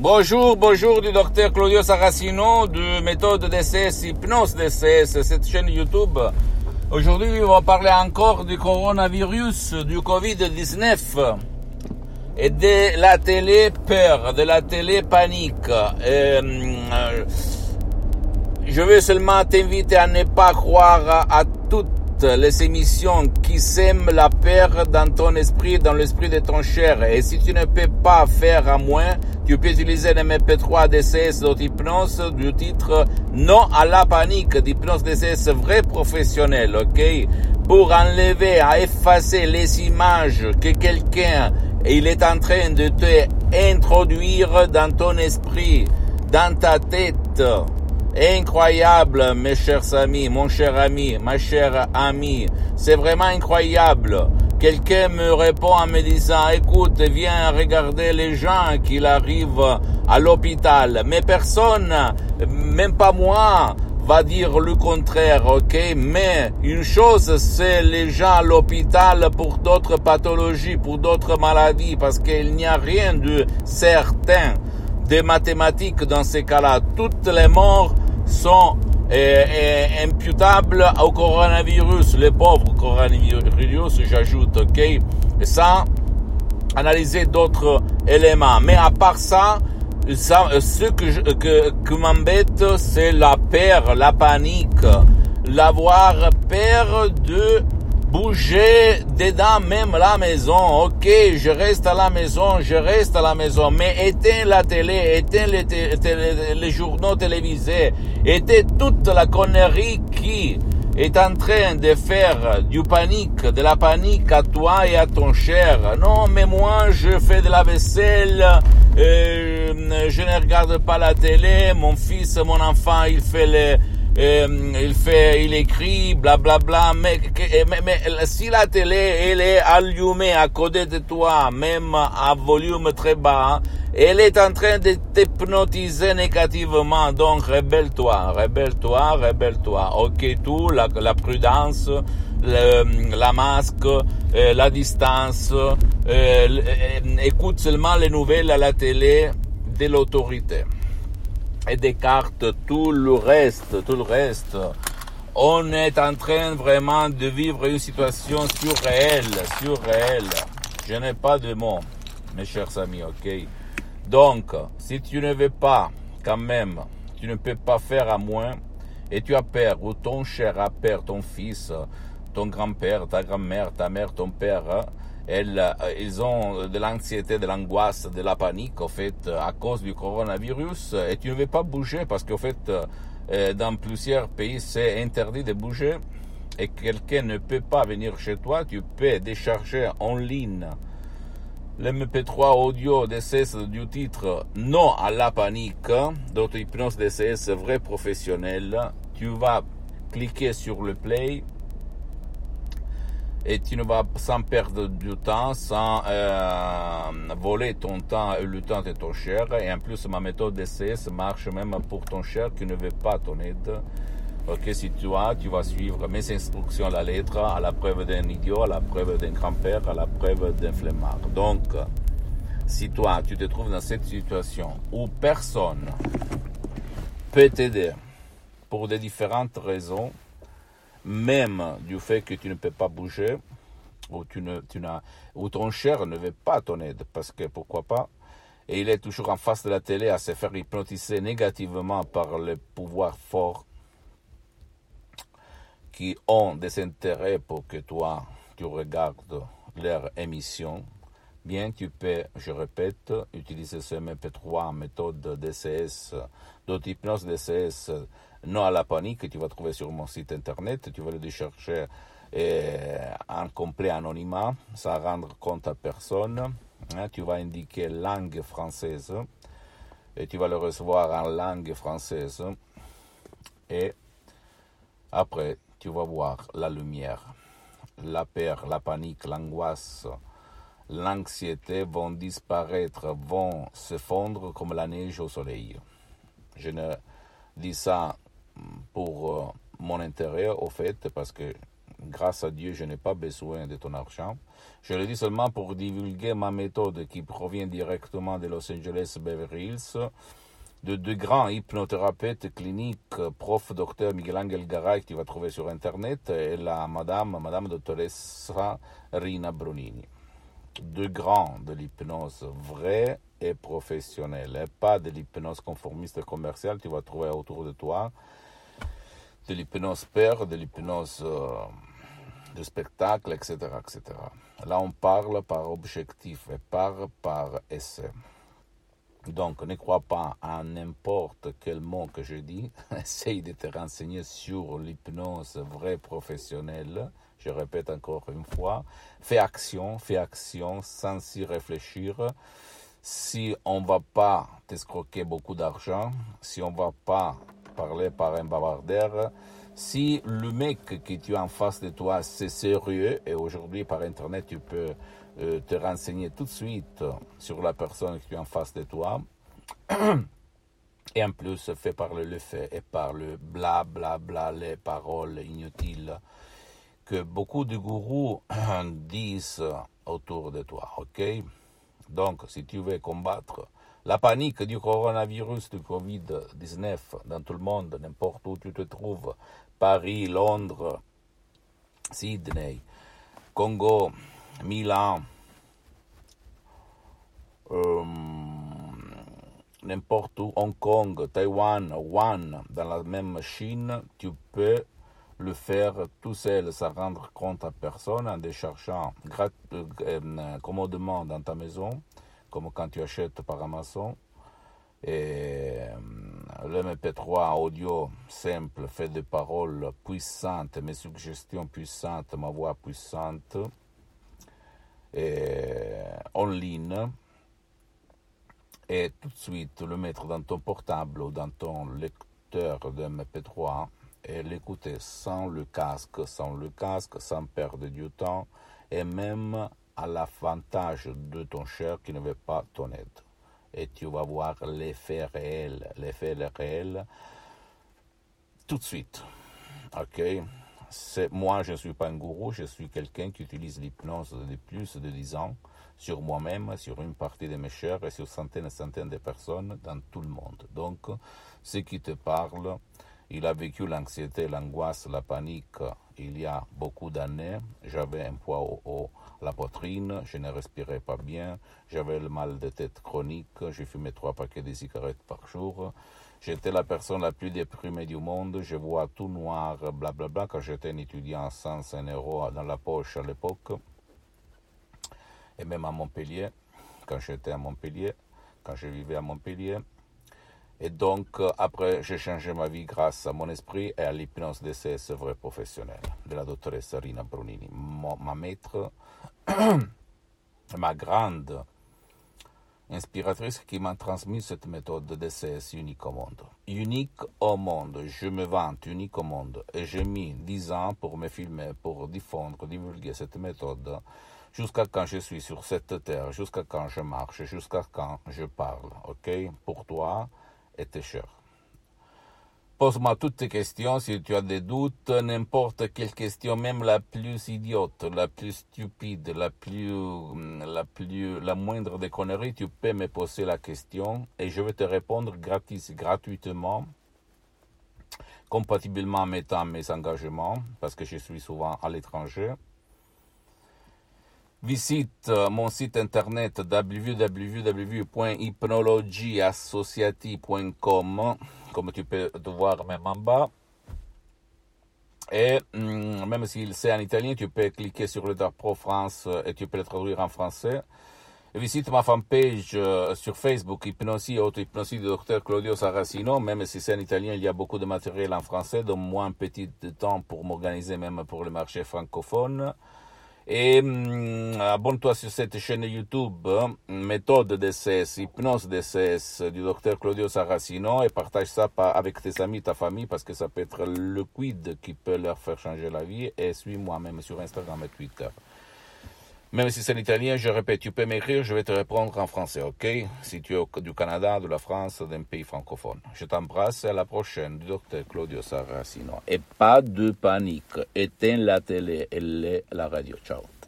Bonjour du docteur Claudio Saracino de méthode DCS, hypnose DCS, cette chaîne YouTube. Aujourd'hui, on va parler encore du coronavirus, du Covid-19 et de la télé-peur, de la télé-panique. Je veux seulement t'inviter à ne pas croire à toutes les émissions qui sèment la peur dans ton esprit, dans l'esprit de ton cher. Et si tu ne peux pas faire à moins, tu peux utiliser le MP3 DCS d'hypnose du titre Non à la panique d'hypnose DCS vrai professionnel, ok? Pour enlever, à effacer les images que quelqu'un il est en train de te introduire dans ton esprit, dans ta tête. Incroyable, mes chers amis, mon cher ami, ma chère amie. C'est vraiment incroyable. Quelqu'un me répond en me disant, écoute, viens regarder les gens qui arrivent à l'hôpital. Mais personne, même pas moi, va dire le contraire, ok? Mais une chose, c'est les gens à l'hôpital pour d'autres pathologies, pour d'autres maladies, parce qu'il n'y a rien de certain, de mathématiques dans ces cas-là. Toutes les morts sont imputables au coronavirus, les pauvres coronavirus, j'ajoute, ok, sans analyser d'autres éléments. Mais à part ça, ce que m'embête, c'est la peur, la panique, l'avoir peur de bouger dedans même la maison. Ok, je reste à la maison, mais éteins la télé, éteins les journaux télévisés, éteins toute la connerie qui est en train de faire de la panique à toi et à ton cher. Non, mais moi, je fais de la vaisselle, je ne regarde pas la télé, mon fils, mon enfant, il écrit, blablabla, mais si la télé, elle est allumée à côté de toi, même à volume très bas, elle est en train de t'hypnotiser négativement, donc rebelle-toi. Ok, tout, la prudence, la masque, la distance, écoute seulement les nouvelles à la télé de l'autorité. Et d'écarte tout le reste. On est en train vraiment de vivre une situation surréelle. Je n'ai pas de mots, mes chers amis, ok? Donc, si tu ne veux pas, quand même, tu ne peux pas faire à moins, et tu as peur, ou ton cher a peur, ton fils, ton grand-père, ta grand-mère, ta mère, ton père, ils ont de l'anxiété, de l'angoisse, de la panique, en fait, à cause du coronavirus, et tu ne veux pas bouger, parce qu'en fait, dans plusieurs pays, c'est interdit de bouger, et quelqu'un ne peut pas venir chez toi, tu peux décharger en ligne l'MP3 audio DCS du titre Non à la panique, d'auto-hypnose DCS vrai professionnel. Tu vas cliquer sur le play, et tu ne vas sans perdre du temps, sans voler ton temps et le temps de ton cher. Et en plus, ma méthode DCS marche même pour ton cher qui ne veut pas ton aide. Ok, si tu vas suivre mes instructions à la lettre, à la preuve d'un idiot, à la preuve d'un grand-père, à la preuve d'un flemmard. Donc, si toi, tu te trouves dans cette situation où personne peut t'aider pour des différentes raisons, même du fait que tu ne peux pas bouger, ou ton cher ne veut pas ton aide, parce que pourquoi pas, et il est toujours en face de la télé à se faire hypnotiser négativement par les pouvoirs forts qui ont des intérêts pour que toi, tu regardes leur émission, bien tu peux, je répète, utiliser ce MP3 en méthode DCS, d'auto-hypnose DCS, non à la panique, que tu vas trouver sur mon site internet. Tu vas le décharger en complet anonymat, sans rendre compte à personne. Tu vas indiquer langue française et tu vas le recevoir en langue française. Et après, tu vas voir la lumière, la peur, la panique, l'angoisse, l'anxiété vont disparaître, vont se fondre comme la neige au soleil. Je ne dis ça pour mon intérêt, au fait, parce que Grâce à Dieu, je n'ai pas besoin de ton argent. Je le dis seulement pour divulguer ma méthode qui provient directement de Los Angeles Beverly Hills, de deux grands hypnothérapeutes cliniques, prof. Dr. Miguel Angel Garay, que tu vas trouver sur Internet, et la madame dottoressa Rina Brunini. Deux grands de l'hypnose vraie et professionnelle, et pas de l'hypnose conformiste et commerciale, tu vas trouver autour de toi, de l'hypnose père, de l'hypnose de spectacle, etc., etc. Là, on parle par objectif et par essai. Donc, ne crois pas à n'importe quel mot que je dis. Essaye de te renseigner sur l'hypnose vraie professionnelle. Je répète encore une fois. Fais action sans y réfléchir. Si on ne va pas t'escroquer beaucoup d'argent, si on ne va pas parler par un bavardeur, si le mec que tu as en face de toi, c'est sérieux, et aujourd'hui par Internet, tu peux te renseigner tout de suite sur la personne que tu as en face de toi, et en plus, fais parler le fait et par le bla bla bla, les paroles inutiles que beaucoup de gourous disent autour de toi, ok? Donc, si tu veux combattre la panique du coronavirus, du Covid-19 dans tout le monde, n'importe où tu te trouves, Paris, Londres, Sydney, Congo, Milan, n'importe où, Hong Kong, Taïwan, Wuhan, dans la même Chine, tu peux le faire tout seul, sans rendre compte à personne, en déchargeant commodément dans ta maison, comme quand tu achètes par Amazon. Et le MP3 audio simple, fait de paroles puissantes, mes suggestions puissantes, ma voix puissante, et en ligne, et tout de suite le mettre dans ton portable ou dans ton lecteur de MP3 et l'écouter sans le casque, sans perdre du temps, et même à l'avantage de ton cher qui ne veut pas ton aide. Et tu vas voir l'effet réel tout de suite. Ok? Moi, je ne suis pas un gourou, je suis quelqu'un qui utilise l'hypnose depuis plus de 10 ans sur moi-même, sur une partie de mes chers et sur centaines et centaines de personnes dans tout le monde. Donc, ce qui te parle, il a vécu l'anxiété, l'angoisse, la panique il y a beaucoup d'années. J'avais un poids à la poitrine, je ne respirais pas bien, j'avais le mal de tête chronique, je fumais 3 paquets de cigarettes par jour. J'étais la personne la plus déprimée du monde, je vois tout noir, blablabla, quand j'étais un étudiant sans 1 euro dans la poche à l'époque. Et même à Montpellier, quand j'étais à Montpellier, quand je vivais à Montpellier. Et donc, après, j'ai changé ma vie grâce à mon esprit et à l'hypnose DCS vrai professionnelle de la dottoressa Rina Brunini, ma maître, ma grande inspiratrice qui m'a transmis cette méthode de DCS unique au monde. Unique au monde, je me vante unique au monde. Et j'ai mis 10 ans pour me filmer, pour diffondre, divulguer cette méthode jusqu'à quand je suis sur cette terre, jusqu'à quand je marche, jusqu'à quand je parle, ok? Pour toi et tes chers. Pose-moi toutes tes questions si tu as des doutes, n'importe quelle question, même la plus idiote, la plus stupide, la moindre des conneries, tu peux me poser la question et je vais te répondre gratuitement, compatiblement en mettant mes engagements, parce que je suis souvent à l'étranger. Visite mon site internet www.hypnologieassociati.com, comme tu peux te voir même en bas. Et même s'il c'est en italien, tu peux cliquer sur le drapeau France et tu peux le traduire en français. Et visite ma fanpage sur Facebook, Hypnosie et Auto-Hypnosie du Dr Claudio Saracino. Même si c'est en italien, il y a beaucoup de matériel en français, donc moi un petit temps pour m'organiser même pour le marché francophone. Et abonne-toi sur cette chaîne YouTube, méthode DCS, hypnose DCS du Dr Claudio Saracino, et partage ça avec tes amis, ta famille, parce que ça peut être le quid qui peut leur faire changer la vie. Et suis-moi même sur Instagram et Twitter. Même si c'est l'italien, je répète, tu peux m'écrire, je vais te répondre en français, ok? Si tu es du Canada, de la France, d'un pays francophone. Je t'embrasse, à la prochaine, du docteur Claudio Saracino. Et pas de panique, éteins la télé et la radio. Ciao.